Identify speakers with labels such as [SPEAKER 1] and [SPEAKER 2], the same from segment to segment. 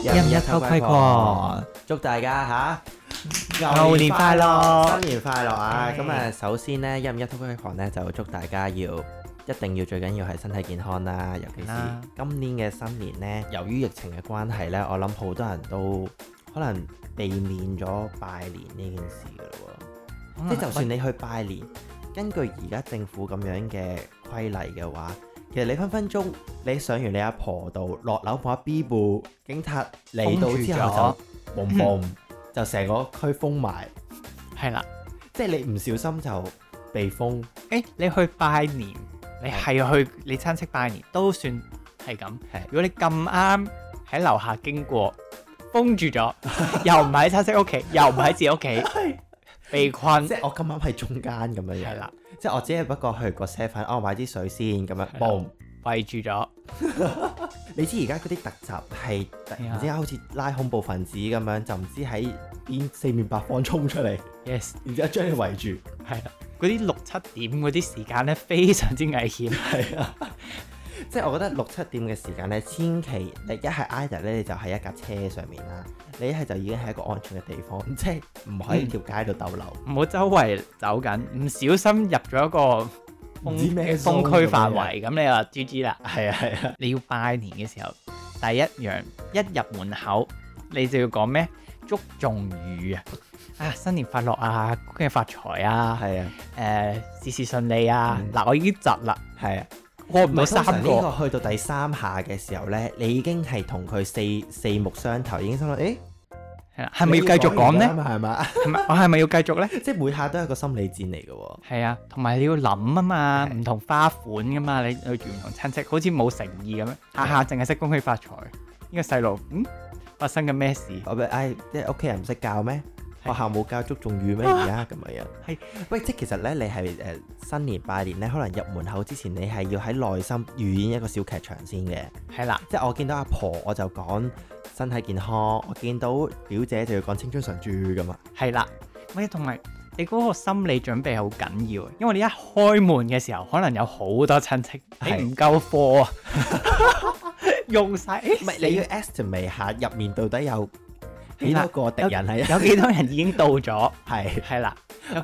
[SPEAKER 1] 一偷窺狂，
[SPEAKER 2] 祝大家
[SPEAKER 1] 牛年快樂
[SPEAKER 2] 新年快樂啊！
[SPEAKER 1] 係
[SPEAKER 2] 咁啊，首先呢，一偷窺狂呢，就祝大家一定要最緊要係身體健康啦，尤其是今年嘅新年呢，由於疫情嘅關係呢，我諗好多人都可能避免咗拜年呢件事噶咯喎。即係就算你去拜年，根據而家政府咁樣嘅規例嘅話，其實你分分鐘你上完你阿婆度落樓放一 B 部警察嚟到之後就嘣嘣就成個區封埋，
[SPEAKER 1] 係啦。
[SPEAKER 2] 即係你唔小心就被封。
[SPEAKER 1] 你去拜年，你係去你親戚拜年都算係咁。如果你咁啱喺樓下經過，封住咗，又唔喺親戚屋企，又唔喺自己屋企，被困。
[SPEAKER 2] 即係我咁啱喺中間咁樣樣。
[SPEAKER 1] 係啦，
[SPEAKER 2] 即係我只係不過去個 7-Eleven，買支水先咁樣，嘣
[SPEAKER 1] 圍住咗。
[SPEAKER 2] 你知而家嗰啲突襲係突然之間好似拉恐怖分子咁樣，就唔知喺邊四面八方衝出嚟。
[SPEAKER 1] Yes，
[SPEAKER 2] 然之後將你圍住。
[SPEAKER 1] 係啦，嗰啲6-7點嗰啲時間咧，非常之危險。
[SPEAKER 2] 係啊，即係我覺得6-7點嘅時間咧，千祈你一係 either 咧，你就喺一架車上面啦；你一係就已經係一個安全嘅地方，即係唔喺條街度逗留，
[SPEAKER 1] 唔好周圍走緊，唔小心入咗一個
[SPEAKER 2] 唔知咩
[SPEAKER 1] 封區範圍，咁你就 GG 啦。
[SPEAKER 2] 係啊係啊，
[SPEAKER 1] 你要拜年嘅時候，第一樣一入門口，你就要講咩？祝仲語啊！新年快樂啊，恭喜發財啊！
[SPEAKER 2] 係啊，
[SPEAKER 1] 事事順利啊！嗱，我已經窒啦，
[SPEAKER 2] 係啊，
[SPEAKER 1] 過唔到3個。
[SPEAKER 2] 呢個去到第3下嘅時候咧，你已經係同佢四目相投，已經心諗，
[SPEAKER 1] 係啦，係咪要繼續講咧？
[SPEAKER 2] 係咪？
[SPEAKER 1] 我係咪要繼續咧？
[SPEAKER 2] 即係每下都係一個心理戰嚟嘅喎。
[SPEAKER 1] 係啊，同埋你要諗啊嘛，唔同花款噶嘛，你去住唔同親戚，好似冇誠意咁樣，下下淨係識恭喜發財。呢個細路，發生緊咩事？
[SPEAKER 2] 即係屋企人唔識教咩？學校冇教祝仲語咩？而家咁樣
[SPEAKER 1] 係，
[SPEAKER 2] 喂，即係其實咧，你係新年拜年咧，可能入門口之前，你係要喺內心預演一個小劇場先嘅。
[SPEAKER 1] 係啦，
[SPEAKER 2] 即係我見到阿婆，我就講身體健康；我見到表姐就要講青春常駐咁啊。
[SPEAKER 1] 係啦，喂，同埋你嗰個心理準備係好緊要，因為你一開門嘅時候，可能有好多親戚，你唔夠貨啊，用晒。
[SPEAKER 2] 唔係你要 estimate 下入面到底有幾多個敵人係？
[SPEAKER 1] 有幾多人已經到咗？
[SPEAKER 2] 係
[SPEAKER 1] 啦。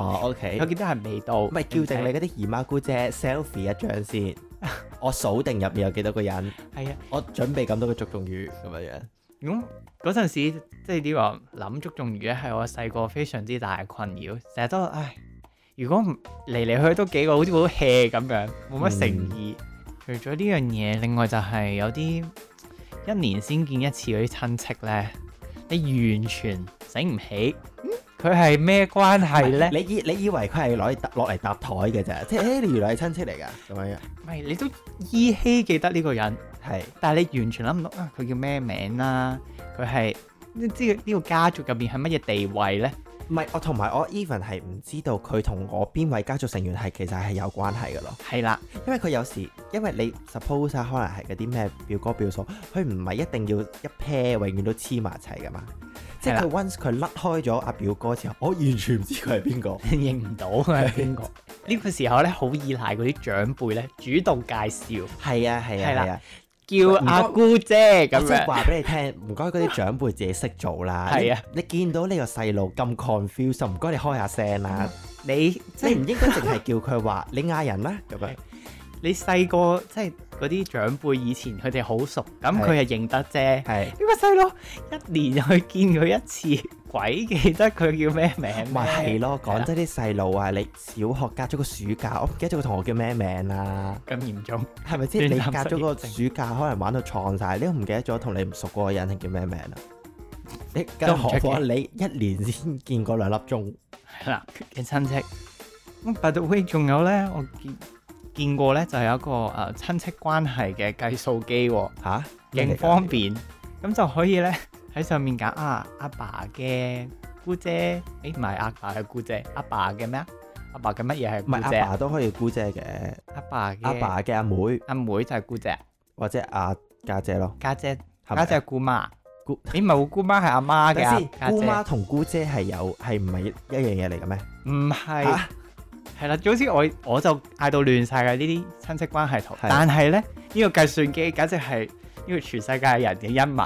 [SPEAKER 2] OK。
[SPEAKER 1] 有幾多人未到？
[SPEAKER 2] 唔係叫定你嗰啲姨媽姑姐 selfie 一張先。我數定入面有幾多個人。
[SPEAKER 1] 係啊，
[SPEAKER 2] 我準備咁多個祝仲語咁樣樣。
[SPEAKER 1] 咁嗰陣時，即係呢個諗祝仲語咧，係我細個非常之大嘅困擾。成日都如果嚟嚟去都幾個好似好 hea 咁樣，冇乜誠意。除咗呢樣嘢，另外就係有啲一年先見一次嗰啲親戚咧，你完全醒唔起佢係咩關係咧？
[SPEAKER 2] 你以為佢係落嚟搭台嘅咋？即係你原來係親戚嚟㗎咁樣樣。
[SPEAKER 1] 唔係，你都依稀記得呢個人，
[SPEAKER 2] 係，
[SPEAKER 1] 但係你完全諗唔到佢叫咩名啦？佢係你知呢個家族入邊係乜嘢地位咧？
[SPEAKER 2] 唔係，我同埋我 even 係唔知道佢同我邊位家族成員係其實係有關係嘅咯。
[SPEAKER 1] 係啦，
[SPEAKER 2] 因為佢有時，因為你 suppose 可能係嗰啲咩表哥表嫂，佢唔係一定要一 pair 永遠都黐埋一齊噶嘛。即係佢 once 佢甩開咗阿表哥之後，我完全唔知佢係邊個，
[SPEAKER 1] 認唔到佢係邊個。呢個時候咧，好依賴嗰啲長輩咧主動介紹。
[SPEAKER 2] 係啊係啊係啊。
[SPEAKER 1] 叫阿姑姐咁樣，
[SPEAKER 2] 即係話俾你聽，唔該嗰啲長輩自己識做啦。
[SPEAKER 1] 係啊，
[SPEAKER 2] 你見到呢個細路咁 confused，唔該你開下聲啦。
[SPEAKER 1] 你
[SPEAKER 2] 唔應該淨係叫佢話你嗌人啦咁樣。
[SPEAKER 1] 你細個即係嗰啲長輩以前佢哋好熟，咁佢係認得啫。
[SPEAKER 2] 係
[SPEAKER 1] 呢個細路一年去見佢一次，鬼記得佢叫咩名？
[SPEAKER 2] 咪係咯，講真啲細路啊，你小學隔咗個暑假，我唔記得咗個同學叫咩名啦。
[SPEAKER 1] 咁嚴重
[SPEAKER 2] 係咪先？你隔咗個暑假，可能玩到創晒，你都唔記得咗同你唔熟嗰個人係叫咩名啦？你更何況你一年先見過2粒鐘，
[SPEAKER 1] 係啦嘅親戚。咁 by the way，仲有咧，我見過咧，就有一個親戚關係嘅計數機喎，勁方便，咁就可以咧喺上面揀阿爸嘅姑姐，唔係阿爸嘅姑姐，阿爸嘅咩啊？阿爸嘅乜嘢係姑姐？唔係
[SPEAKER 2] 阿爸都可以姑姐嘅，
[SPEAKER 1] 阿爸
[SPEAKER 2] 嘅阿妹，
[SPEAKER 1] 阿妹就係姑姐，
[SPEAKER 2] 或者阿家姐咯，
[SPEAKER 1] 家姐係姑媽，唔係姑媽係阿媽嘅，
[SPEAKER 2] 姑媽同姑姐係唔係一樣嘢嚟嘅咩？
[SPEAKER 1] 唔係。係啦，總之我就嗌到亂晒嘅呢啲親戚關係圖，但係咧呢個計算機簡直係呢個全世界人嘅恩物，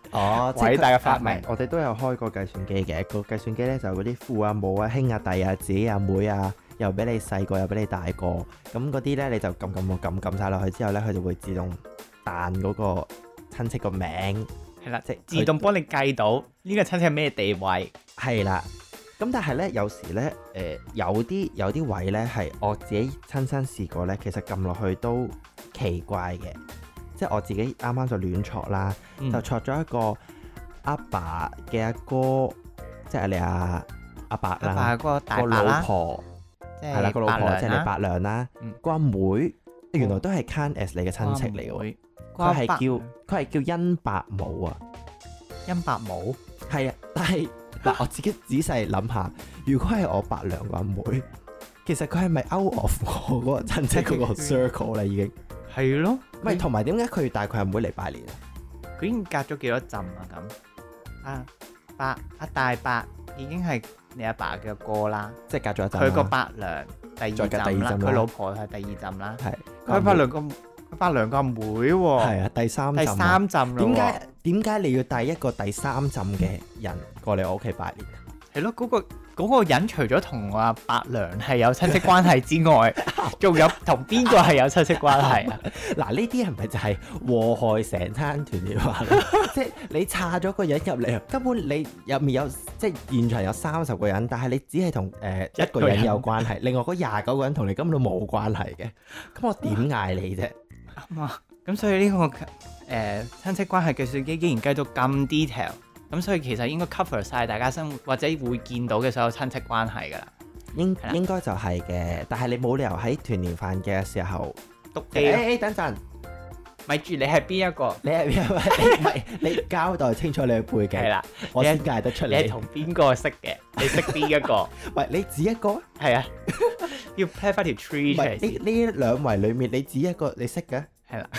[SPEAKER 2] 哦，
[SPEAKER 1] 偉大嘅發明。
[SPEAKER 2] 我哋都有開過計算機嘅，個計算機咧就嗰啲父啊、母啊、兄啊、弟啊、姊啊、妹啊，又俾你細個又俾你大個，咁嗰啲咧你就撳晒落去之後咧，佢就會自動彈嗰個親戚個名，
[SPEAKER 1] 係啦，
[SPEAKER 2] 即係
[SPEAKER 1] 自動幫你計到呢個親戚係咩地位。
[SPEAKER 2] 係啦。咁但係咧，有時咧，有啲位咧係我自己親身試過咧，其實撳落去都奇怪嘅，即係我自己啱啱就亂錯啦，就錯咗一個阿爸嘅阿哥，即係你阿伯啦，
[SPEAKER 1] 阿爸個大
[SPEAKER 2] 個
[SPEAKER 1] 伯啦，
[SPEAKER 2] 老婆
[SPEAKER 1] 即
[SPEAKER 2] 係啦，個老婆即係你伯娘啦，個阿妹原來都係 count as 你嘅親戚嚟喎，佢係叫恩伯母啊，
[SPEAKER 1] 恩伯母
[SPEAKER 2] 係啊，但係嗱我自己仔細諗下，如果係我伯娘個阿妹，其實佢係咪 out of 我嗰個親戚嗰個 circle 啦已經？
[SPEAKER 1] 係咯，
[SPEAKER 2] 唔係同埋點解佢要帶佢阿妹嚟拜年啊？
[SPEAKER 1] 佢已經隔咗幾多陣啊咁？阿大伯已經係你阿爸嘅哥啦，
[SPEAKER 2] 即係隔咗一陣啦。
[SPEAKER 1] 佢個伯娘第二陣啦，佢老婆係第二陣啦，
[SPEAKER 2] 係
[SPEAKER 1] 佢伯娘個阿妹喎，
[SPEAKER 2] 係啊，第三陣咯。點解你要帶一個第三陣嘅人過嚟我屋企拜年啊？
[SPEAKER 1] 係咯，嗰個人除咗同我阿伯娘係有親戚關係之外，仲有同邊個係有親戚關係啊？
[SPEAKER 2] 嗱，呢啲係咪就係禍害成餐團圓飯？即係你插咗個人入嚟，根本你入面有即係現場有30個人，但係你只係同一個人有關係，另外嗰29個人同你根本都冇關係嘅。咁我點嗌你啫？
[SPEAKER 1] 咁所以呢個親戚關係計算機竟然計到咁 detail。咁所以其實應該 cover 晒大家生活或者會見到嘅所有親戚關係㗎啦。
[SPEAKER 2] 應該就係嘅，但係你冇理由喺團年飯嘅時候
[SPEAKER 1] 篤機。
[SPEAKER 2] 等陣，
[SPEAKER 1] 咪住你係邊一個？
[SPEAKER 2] 你係邊一位？唔係你交代清楚你嘅背景。係啦，我先介得出嚟。
[SPEAKER 1] 你係同邊個識嘅？你識邊一個？
[SPEAKER 2] 喂，你指一個？
[SPEAKER 1] 係啊，要 plan 翻條 tree 出嚟。
[SPEAKER 2] 呢兩圍裡面，你指一個你識嘅？係啦。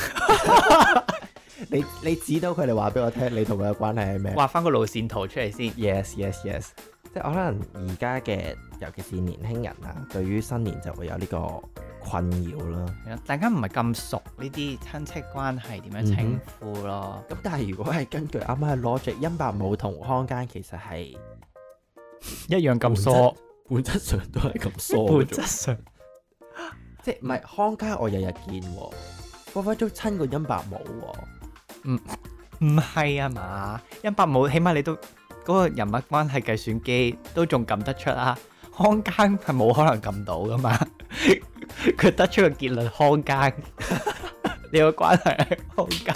[SPEAKER 2] 你指到佢哋話俾我聽，你同佢嘅關係係咩？
[SPEAKER 1] 畫翻個路線圖出嚟先。
[SPEAKER 2] Yes。即係可能而家嘅，尤其是年輕人啊，對於新年就會有呢個困擾啦。
[SPEAKER 1] 大家唔係咁熟呢啲親戚關係點樣稱呼咯。
[SPEAKER 2] 咁但係如果係根據啱啱嘅 logic，恩伯母同康間其實係
[SPEAKER 1] 一樣咁疏，
[SPEAKER 2] 本質上都係咁疏。
[SPEAKER 1] 本質上，
[SPEAKER 2] 即係唔係康間我日日見喎，分分鐘親過恩伯母喎。
[SPEAKER 1] 唔係啊嘛，恩伯母起碼你都嗰個人物關係計算機都仲撳得出啦，康間係冇可能撳到噶嘛，佢得出個結論康間，你個關係係康間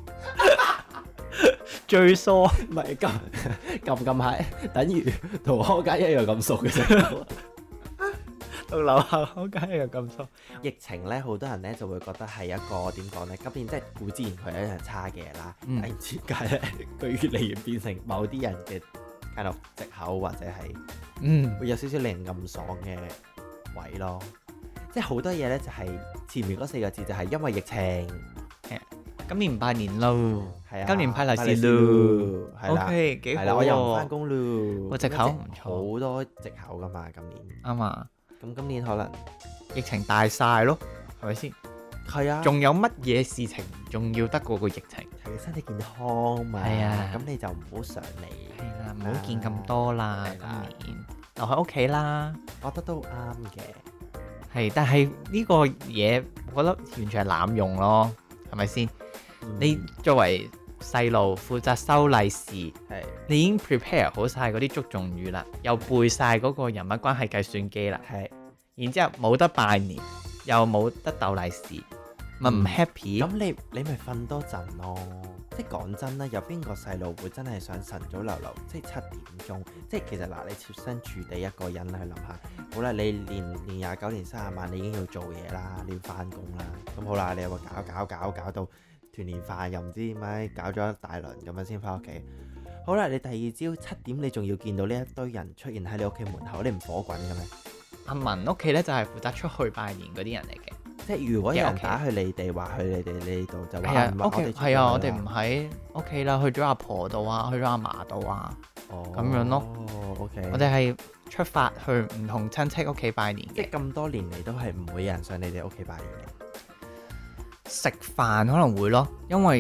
[SPEAKER 1] 最疏，
[SPEAKER 2] 唔係撳下，等於同康間一樣咁熟嘅啫。
[SPEAKER 1] 到樓下康間一樣咁疏。
[SPEAKER 2] 疫情咧，好多人咧就會覺得係一個點講咧？今年即係固之然佢係一樣差嘅嘢啦，但係唔知點解咧，佢越嚟越變成某啲人嘅kind of藉口，或者係會有少少令人暗爽嘅位咯。即係好多嘢咧，就係前面嗰4個字就係因為疫情。
[SPEAKER 1] 今年唔拜年咯，
[SPEAKER 2] 係啊，
[SPEAKER 1] 今年派利是咯，
[SPEAKER 2] 係啦，
[SPEAKER 1] OK 幾好，
[SPEAKER 2] 係啦，我又唔翻工咯，
[SPEAKER 1] 個藉口唔錯，
[SPEAKER 2] 好多藉口噶嘛，今年
[SPEAKER 1] 啱啊。
[SPEAKER 2] 咁今年可能
[SPEAKER 1] 疫情大晒咯，係咪先？
[SPEAKER 2] 係啊，
[SPEAKER 1] 仲有乜嘢事情仲要得過個疫情？
[SPEAKER 2] 係身體健康嘛。
[SPEAKER 1] 係啊，
[SPEAKER 2] 咁你就唔好上嚟。
[SPEAKER 1] 係啦，唔好見咁多啦。今年留喺屋企啦，
[SPEAKER 2] 我覺得都啱嘅。
[SPEAKER 1] 係，但係呢個嘢，我覺得完全係濫用咯，係咪先？你作為細路負責收利是，
[SPEAKER 2] 係
[SPEAKER 1] 你已經 prepare 好晒嗰啲祝頌語啦，又背晒嗰個人物關係計算機啦，
[SPEAKER 2] 係，
[SPEAKER 1] 然之後冇得拜年，又冇得逗利是，咪唔 happy？
[SPEAKER 2] 咁你咪瞓多陣咯。即係講真啦，有邊個細路會真係想晨早流流，即係7點鐘？即係其實嗱，你設身處地一個人去諗下，好啦，你年29年30晚，你已經要做嘢啦，你要翻工啦。咁好啦，你又話搞到團年飯又唔知點解搞咗一大輪咁樣先翻屋企。好啦，你第二朝7點，你仲要見到呢一堆人出現喺你屋企門口，你唔火滾嘅咩？
[SPEAKER 1] 阿文屋企咧就係負責出去拜年嗰啲人嚟嘅。
[SPEAKER 2] 即係如果有人打去你哋，話去你哋呢度就話
[SPEAKER 1] 係啊，我哋唔喺屋企啦，去咗阿婆度啊，去咗阿嫲度啊，咁樣咯。
[SPEAKER 2] OK，
[SPEAKER 1] 我哋係出發去唔同親戚屋企拜年嘅。
[SPEAKER 2] 即係咁多年嚟都係唔會有人上你哋屋企拜年嘅。
[SPEAKER 1] 食飯可能會咯，因為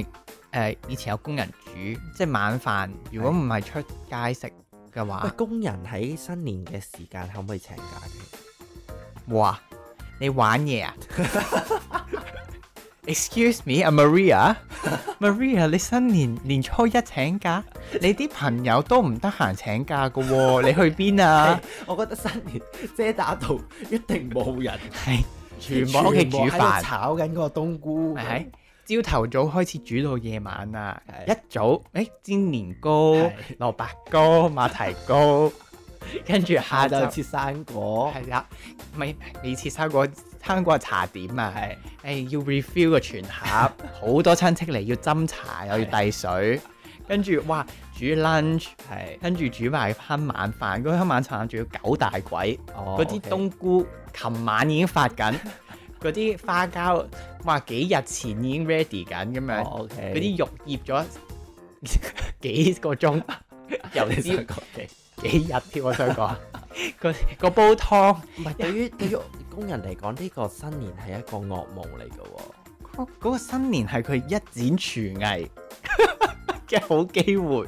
[SPEAKER 1] 以前有工人煮，即係晚飯，如果唔係出街食嘅
[SPEAKER 2] 喂，
[SPEAKER 1] 話，
[SPEAKER 2] 工人喺新年嘅時間可唔可以請假嘅？
[SPEAKER 1] 哇！你玩嘢啊？Excuse me，啊 Maria，Maria，你新年初一請假，你啲朋友都唔得閒請假㗎喎，你去邊啊？
[SPEAKER 2] 我覺得新年遮打道一定冇人，
[SPEAKER 1] 係全部屋企煮
[SPEAKER 2] 喺度
[SPEAKER 1] 飯，
[SPEAKER 2] 炒緊嗰個冬菇。
[SPEAKER 1] 係朝頭早開始煮到夜晚啊！
[SPEAKER 2] 係
[SPEAKER 1] 一早煎年糕、
[SPEAKER 2] 係
[SPEAKER 1] 蘿蔔糕、馬蹄糕，跟住下晝
[SPEAKER 2] 下晝切生果。
[SPEAKER 1] 係啦，咪未切生果係茶點啊！要 refill 個全盒，好多親戚嚟要斟茶，又要遞水，跟住哇煮 lunch，跟住煮埋餐晚飯，嗰餐晚飯仲要九大簋，嗰啲冬菇琴晚已經發緊。嗰啲花膠，哇幾日前已經 ready 緊咁樣，嗰啲肉醃咗幾個鐘，由
[SPEAKER 2] 你想
[SPEAKER 1] 朝
[SPEAKER 2] 講
[SPEAKER 1] 幾日添，我想講個煲湯，
[SPEAKER 2] 唔係對於工人嚟講，呢個新年係一個噩夢嚟嘅喎。
[SPEAKER 1] 嗰個新年係佢一展廚藝嘅好機會，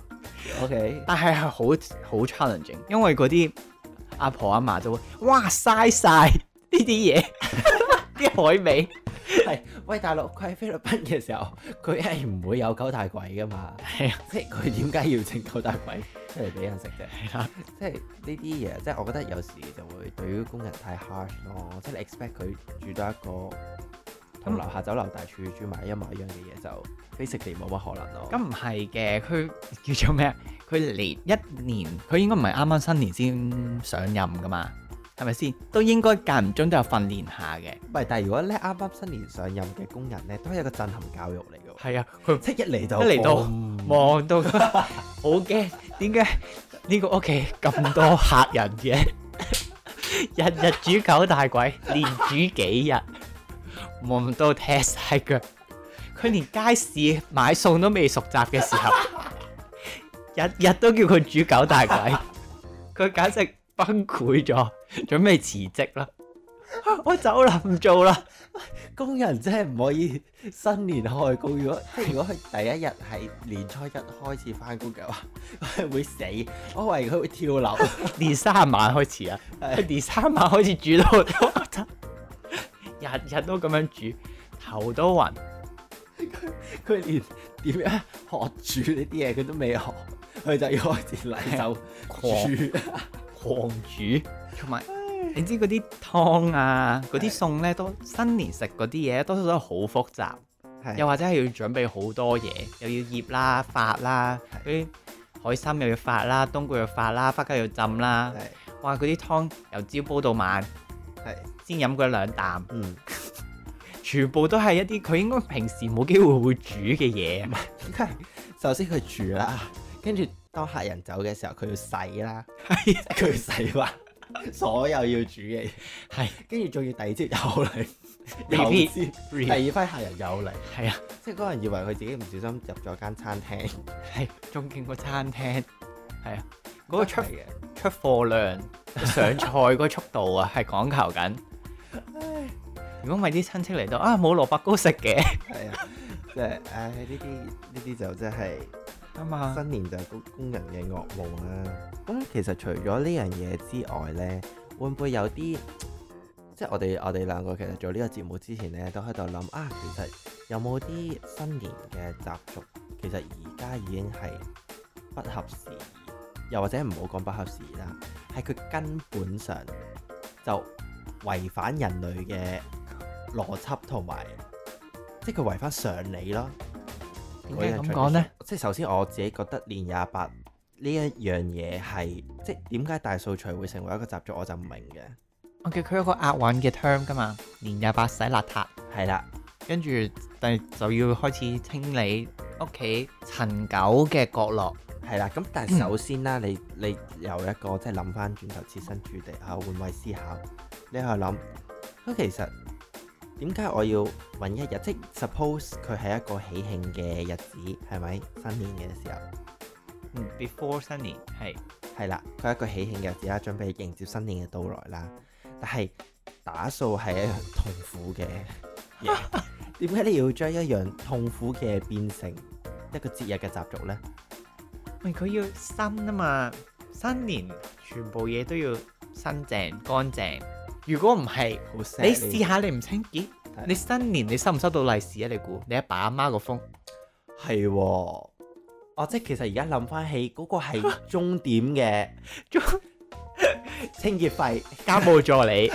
[SPEAKER 2] OK，
[SPEAKER 1] 但係好 challenging，因為嗰啲阿婆阿嫲就會哇嘥晒呢啲嘢。啲海味
[SPEAKER 2] 係喂大佬，佢喺菲律賓嘅時候，佢係唔會有九大簋噶嘛？
[SPEAKER 1] 係啊，
[SPEAKER 2] 即係佢點解要整九大簋出嚟俾人食啫？
[SPEAKER 1] 係啦，
[SPEAKER 2] 即係呢啲嘢，即係我覺得有時就會對於工人太 harsh 咯。即係你 expect 佢煮到一個同樓下酒樓大廚煮埋一模一樣嘅嘢，就 basically 冇乜可能咯。
[SPEAKER 1] 咁唔係嘅，佢叫做咩啊？佢嚟一年，佢應該唔係啱啱新年先上任噶嘛？係咪先？都應該間唔中都有訓練下嘅。
[SPEAKER 2] 喂，但係如果咧啱啱新年上任嘅工人咧，都係一個震撼教育嚟嘅喎。
[SPEAKER 1] 係啊，佢
[SPEAKER 2] 即係一嚟
[SPEAKER 1] 到望到好驚，點解呢個屋企咁多客人嘅？日日煮九大簋，連煮幾日，望到踢晒腳。佢連街市買餸都未熟習嘅時候，日日都叫佢煮九大簋，佢簡直崩潰咗，準備辭職啦！我走啦，唔做啦。
[SPEAKER 2] 工人真係唔可以新年開工。如果佢第一日係年初一開始翻工嘅話，佢係會死。我懷疑佢會跳樓。
[SPEAKER 1] 年30晚開始啊，佢年30晚開始煮到日日都咁樣煮，頭都暈。
[SPEAKER 2] 佢連點樣學煮呢啲嘢佢都未學，佢就要開始嚟手
[SPEAKER 1] 狂煮，同埋你知嗰啲湯啊，嗰啲餸咧都新年食嗰啲嘢，多數都好複雜，又或者係要準備好多嘢，又要醃啦、發啦，嗰啲海參又要發啦，冬菇又要發啦，花膠要浸啦，哇！嗰啲湯由朝煲到晚，先飲嗰2啖，全部都係一啲佢應該平時冇機會會煮嘅嘢。
[SPEAKER 2] 點解？首先佢煮啦，跟住當客人走嘅時候，佢要洗啦，佢要洗翻所有要煮嘅嘢，
[SPEAKER 1] 係
[SPEAKER 2] 跟住仲要第二朝又嚟，第二批客人又嚟，
[SPEAKER 1] 係啊，
[SPEAKER 2] 即係嗰個人以為佢自己唔小心入咗間餐廳，
[SPEAKER 1] 係仲經過餐廳，係啊，嗰個出貨量、上菜嗰個速度啊，係講求緊。如果唔係啲親戚嚟到啊，冇蘿蔔糕食嘅，
[SPEAKER 2] 係啊，即係呢啲就真係
[SPEAKER 1] 啊嘛，
[SPEAKER 2] 新年就係工人嘅噩夢啦。咁其實除咗呢樣嘢之外呢，會唔會有啲即係我哋兩個其實做呢個節目之前呢，都喺度諗啊，其實有冇啲新年嘅習俗，其實而家已經係不合時宜，又或者唔好講不合時宜啦，係佢根本上就違反人類嘅邏輯同埋，即係佢違反常理咯。
[SPEAKER 1] 點解咁講呢？
[SPEAKER 2] 即係首先我自己覺得年28呢一樣嘢係，即係點解大掃除會成為一個習俗，我就唔明嘅。
[SPEAKER 1] OK，佢有個押韻嘅 term 噶嘛，年28洗邋遢，
[SPEAKER 2] 係啦，
[SPEAKER 1] 跟住但係就要開始清理屋企陳舊嘅角落。
[SPEAKER 2] 係啦。咁但係首先啦，你由一個即係諗翻轉頭設身處地啊，換位思考，你去諗，咁其實點解我要揾一日？即係 suppose 佢係一個喜慶嘅日子，係咪新年嘅時候
[SPEAKER 1] ？Before 新年
[SPEAKER 2] 係啦，佢係一個喜慶嘅日子啦，準備迎接新年嘅到來啦。但係打掃係一樣痛苦嘅嘢，點解你要將一樣痛苦嘅變成一個節日嘅習俗呢？
[SPEAKER 1] 喂，佢要新啊嘛，新年全部嘢都要新淨乾淨。如果唔係，
[SPEAKER 2] 好 sad
[SPEAKER 1] 你試下你唔清潔，你新年你收唔收到利是啊？你估你阿爸阿媽個風
[SPEAKER 2] 係喎，哦，即係其實而家諗翻起嗰個係鐘點嘅清潔費，
[SPEAKER 1] 家務助理，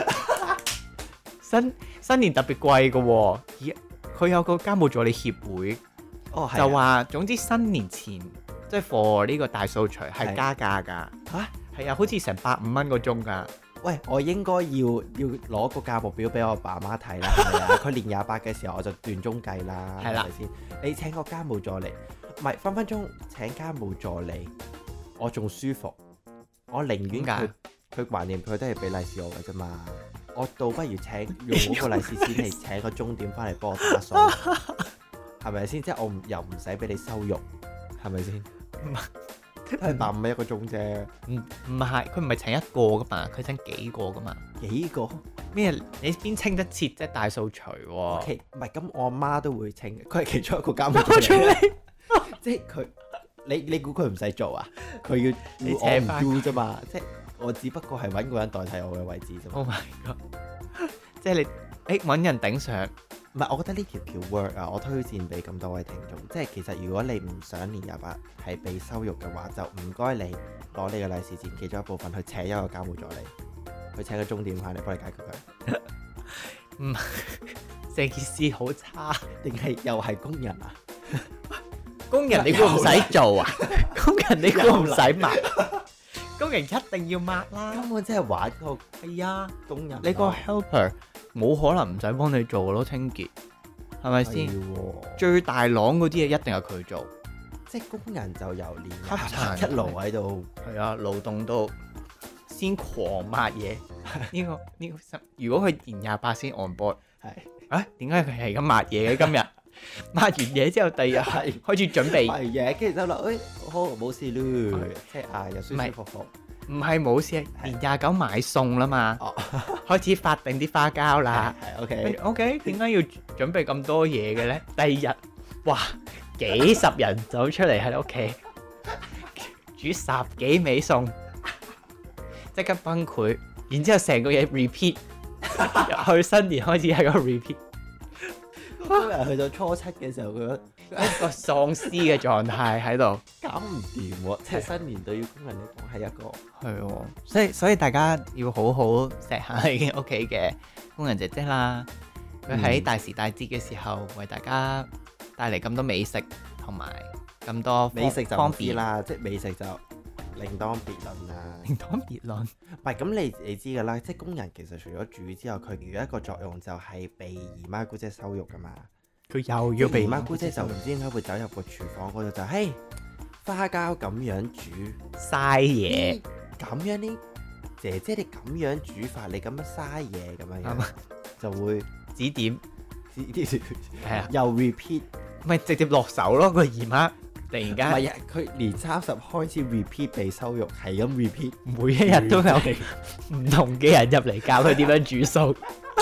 [SPEAKER 1] 新年特別貴嘅喎，佢有個家務助理協會，
[SPEAKER 2] 哦係
[SPEAKER 1] 就話總之新年前即係 for 呢個大掃除係
[SPEAKER 2] 係
[SPEAKER 1] 加價㗎，
[SPEAKER 2] 嚇，
[SPEAKER 1] 係啊，好似成150蚊個鐘㗎。
[SPEAKER 2] 喂，我應該要攞個價目表俾我爸媽睇啦，係咪啊？佢年28嘅時候我就斷鐘計啦，
[SPEAKER 1] 係啦
[SPEAKER 2] 係咪先？你請個家務助理，唔係分分鐘請家務助理，我仲舒服，我寧願佢懷念佢都係俾利是我嘅啫嘛，我倒不如用嗰個利是錢嚟請個鐘點翻嚟幫我打掃，係咪先？即係我又唔使俾你收肉，係咪先？都係150蚊一個鐘啫，
[SPEAKER 1] 唔係，佢唔係請一個噶嘛，佢請幾個噶嘛。
[SPEAKER 2] 幾個
[SPEAKER 1] 咩？你邊清得切啫？大掃除喎。
[SPEAKER 2] ？OK，唔係咁，我阿媽都會清，佢係其中一個家務助理，即係佢，你估佢唔使做啊？佢要
[SPEAKER 1] 你
[SPEAKER 2] 我唔
[SPEAKER 1] 請返
[SPEAKER 2] 要啫嘛，即係我只不過係揾個人代替我嘅位置啫嘛。
[SPEAKER 1] Oh my god！即係你揾人頂上，
[SPEAKER 2] 唔係，我覺得呢條橋 work 啊！我推薦俾咁多位聽眾，即係其實如果你唔想年28係被收肉嘅話，就唔該你攞你嘅利是錢其中一部分去請一個家務助理，去請個鐘點翻嚟幫你解決佢。
[SPEAKER 1] 唔成件事好差。
[SPEAKER 2] 定係又係工人啊？
[SPEAKER 1] 工人你估唔使做啊？工人你估唔使抹？工人一定要抹啦。
[SPEAKER 2] 根本真係玩個
[SPEAKER 1] 係啊，
[SPEAKER 2] 工人。
[SPEAKER 1] 你個 helper 冇可能唔使幫你做咯，清潔係咪先？最大朗嗰啲嘢一定係佢做。
[SPEAKER 2] 即係工人就由年
[SPEAKER 1] 黑殘
[SPEAKER 2] 一路喺度，
[SPEAKER 1] 係啊，勞動到先狂抹嘢。呢個如果佢年28先 on board，
[SPEAKER 2] 係
[SPEAKER 1] 啊，點解佢係咁抹嘢嘅今日？抹完嘢之後，第二日
[SPEAKER 2] 係
[SPEAKER 1] 開始準備，
[SPEAKER 2] 係嘅，跟住就諗，好冇事咯，即係又舒舒服服。
[SPEAKER 1] 唔係冇事，年29買餸啦嘛，
[SPEAKER 2] 哦，
[SPEAKER 1] 開始發定啲花膠啦。
[SPEAKER 2] 係 OK。
[SPEAKER 1] OK，點解要準備咁多嘢嘅咧？第二日，哇，幾十人走出嚟喺屋企煮10幾味餸，即刻崩潰。然之後成個嘢 repeat，去新年開始係個 repeat。
[SPEAKER 2] 工人去到初7嘅時候，佢
[SPEAKER 1] 一個喪屍嘅狀態喺度，
[SPEAKER 2] 搞唔掂喎，即係新年對於工人嚟講係一個
[SPEAKER 1] 係喎，所以大家要好好錫下你嘅屋企嘅工人姐姐啦。佢喺大時大節嘅時候，為大家帶嚟咁多美食同埋咁多
[SPEAKER 2] 美食就
[SPEAKER 1] 方便
[SPEAKER 2] 唔知啦，即係美食就另當別論啦。
[SPEAKER 1] 另當別論。
[SPEAKER 2] 唔係咁，你知㗎啦，即係工人其實除咗煮之後，佢有一個作用就係被姨媽姑姐收肉㗎嘛。
[SPEAKER 1] 佢又要被
[SPEAKER 2] 姨媽姑姐就唔知點解會走入個廚房嗰度就，嘿，花膠咁樣煮
[SPEAKER 1] 嘥嘢，
[SPEAKER 2] 咁樣啲姐姐你咁樣煮法，你咁樣嘥嘢咁樣樣就會
[SPEAKER 1] 指點
[SPEAKER 2] 啲
[SPEAKER 1] 係啊，
[SPEAKER 2] 又 repeat，
[SPEAKER 1] 咪直接落手咯個姨媽，突然
[SPEAKER 2] 唔
[SPEAKER 1] 間
[SPEAKER 2] 係啊，佢年30開始 repeat 被收肉，係咁 repeat，
[SPEAKER 1] 每一日都有唔同嘅人入嚟教佢點樣煮餸。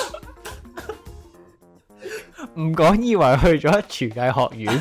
[SPEAKER 1] 唔講以為去咗廚藝學院，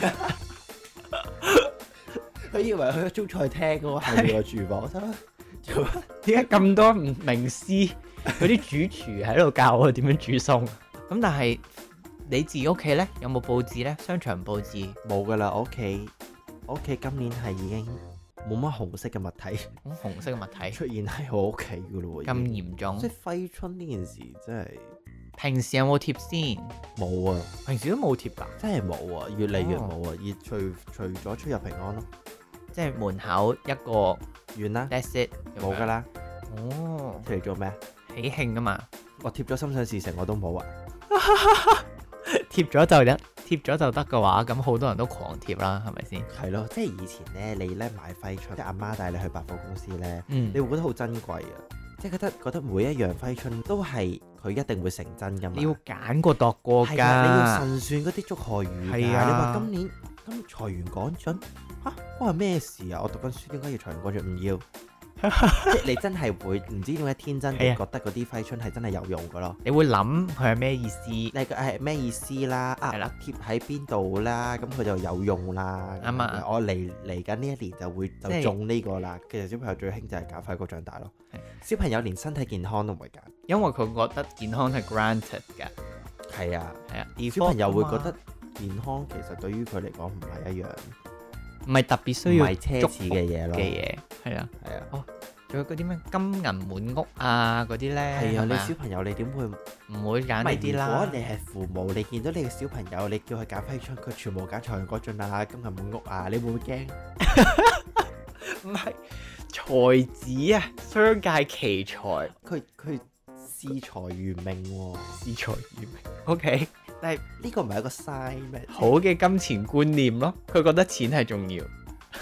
[SPEAKER 2] 佢以為去咗中菜廳嗰個後面個廚房，做乜？
[SPEAKER 1] 點解咁多名師嗰啲主廚喺度教我點樣煮餸？咁但係你自己屋企咧有冇佈置咧？商場佈置
[SPEAKER 2] 冇噶啦，我屋企今年係已經冇乜紅色嘅物體
[SPEAKER 1] 咁紅色嘅物體
[SPEAKER 2] 出現喺我屋企噶咯喎，
[SPEAKER 1] 咁
[SPEAKER 2] 已經
[SPEAKER 1] 嚴重
[SPEAKER 2] 即，係揮春呢件事真係
[SPEAKER 1] 平時有冇貼先？
[SPEAKER 2] 冇啊，
[SPEAKER 1] 平時都冇貼㗎，
[SPEAKER 2] 真係冇啊，越嚟越冇啊，除咗出入平安咯，
[SPEAKER 1] 即係門口一個
[SPEAKER 2] 完啦，
[SPEAKER 1] that's it
[SPEAKER 2] 冇噶。啦，
[SPEAKER 1] 哦，
[SPEAKER 2] 出嚟做咩？
[SPEAKER 1] 喜慶㗎嘛，
[SPEAKER 2] 我貼咗心想事成我都冇啊，
[SPEAKER 1] 貼咗就得嘅話，咁好多人都狂貼啦，係咪先？
[SPEAKER 2] 係咯，即係以前咧，你咧買揮春，即係阿媽帶你去百貨公司咧，
[SPEAKER 1] 嗯
[SPEAKER 2] 你會覺得好珍貴啊，即係覺得每一樣揮春都係佢一定會成真噶嘛，
[SPEAKER 1] 你要揀過度過
[SPEAKER 2] 係啊，你要
[SPEAKER 1] 㗎，
[SPEAKER 2] 慎選嗰啲祝賀語㗎。
[SPEAKER 1] 係啊
[SPEAKER 2] 你話今財源廣進嚇，關係咩事啊？我讀緊書點解要財源廣進？唔要， 即係你真係會唔知點解天真地
[SPEAKER 1] 係啊
[SPEAKER 2] 覺得嗰啲揮春係真係有用噶咯。
[SPEAKER 1] 你會諗佢係咩意思？
[SPEAKER 2] 你係咩意思啦？
[SPEAKER 1] 係啦
[SPEAKER 2] 貼喺邊度啦？咁佢就有用啦。
[SPEAKER 1] 啱啊
[SPEAKER 2] 我嚟緊呢一年就
[SPEAKER 1] 係
[SPEAKER 2] 中呢個啦。其實小朋友最興就係搞快高長大咯
[SPEAKER 1] 係。
[SPEAKER 2] 小朋友連身體健康都唔會揀。
[SPEAKER 1] 因為佢覺得健康係 granted 㗎。
[SPEAKER 2] 係啊，
[SPEAKER 1] 係啊，
[SPEAKER 2] 小朋友會覺
[SPEAKER 1] default 啊嘛
[SPEAKER 2] 得健康其實對於佢嚟講唔係一樣，
[SPEAKER 1] 唔係特別
[SPEAKER 2] 唔
[SPEAKER 1] 需要
[SPEAKER 2] 係奢侈嘅嘢咯。
[SPEAKER 1] 嘅嘢，係啊，
[SPEAKER 2] 係啊，
[SPEAKER 1] 仲有嗰啲咩金銀滿屋啊嗰啲咧，
[SPEAKER 2] 係啊，
[SPEAKER 1] 係咪
[SPEAKER 2] 你小朋友你點會？
[SPEAKER 1] 唔會揀
[SPEAKER 2] 唔係，如
[SPEAKER 1] 呢啲啦
[SPEAKER 2] 果。你係父母，你見到你嘅小朋友，你叫佢揀揮春，佢全部揀財源果進啊、金銀滿屋啊，你會唔會驚？
[SPEAKER 1] 唔係才子啊，商界奇才，
[SPEAKER 2] 佢視財如命喎，
[SPEAKER 1] 視財如命。OK，但係
[SPEAKER 2] 呢個唔係一個 sign 咩？
[SPEAKER 1] 好嘅金錢觀念咯，佢覺得錢係重要，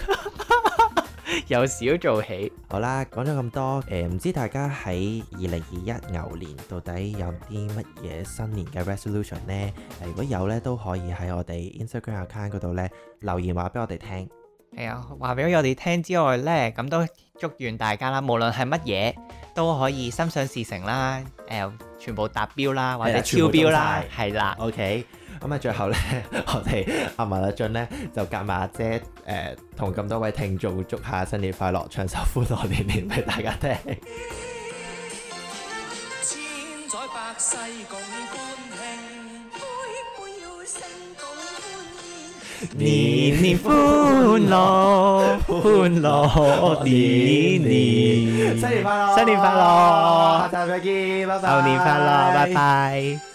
[SPEAKER 1] 由小做起。
[SPEAKER 2] 好啦，講咗咁多，唔知大家喺2021牛年到底有啲乜嘢新年嘅 resolution 呢？如果有呢，都可以喺我哋 Instagram account 嗰度呢留言話俾我哋聽。
[SPEAKER 1] 係啊，話俾我哋聽之外呢，咁都祝願大家啦，無論係乜嘢都可以心想事成啦，全部達標啦，或者超標啦，係啦。
[SPEAKER 2] OK，咁啊，最後呢，我哋阿文阿俊呢，就夾埋阿姐同咁多位聽眾祝下新年快樂，長壽歡樂年年俾大家聽。
[SPEAKER 3] 千載百世共歡慶，杯杯要聲共歡宴。
[SPEAKER 1] 年年歡樂，歡樂年年。
[SPEAKER 2] 新年快樂！
[SPEAKER 1] 新年快樂！
[SPEAKER 2] 下集再見，拜拜。
[SPEAKER 1] 牛年快樂，拜拜。